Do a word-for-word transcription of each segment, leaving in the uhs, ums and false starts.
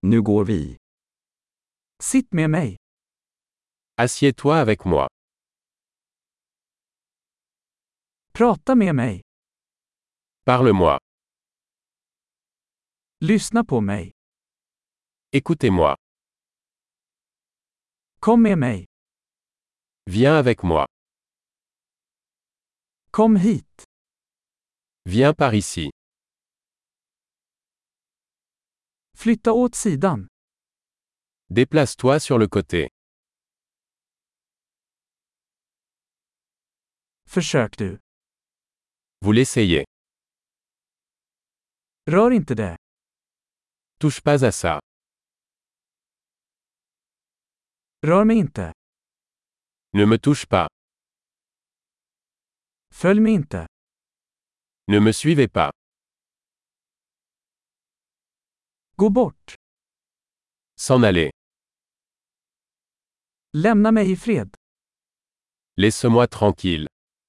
Nu går vi. Sitt med mig. Assieds-toi avec moi. Prata med mig. Parle-moi. Lyssna på mig. Écoutez-moi. Kom med mig. Viens avec moi. Kom hit. Viens par ici. Flytta åt sidan. Déplace-toi sur le côté. Försök du. Vous l'essayez. Rör inte det. Touche pas à ça. Rör mig inte. Ne me touche pas. Följ mig inte. Ne me suivez pas. Gå bort. S'en aller. Lämna mig i fred. Laisse-moi tranquille.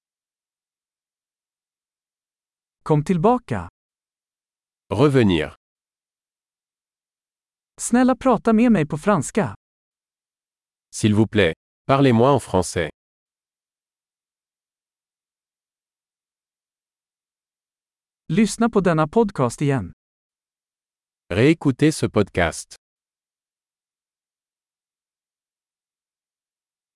Kom tillbaka. Revenir. Snälla prata med mig på franska. S'il vous plaît. Parlez-moi en français. Lyssna på denna podcast igen. Réécoutez ce podcast.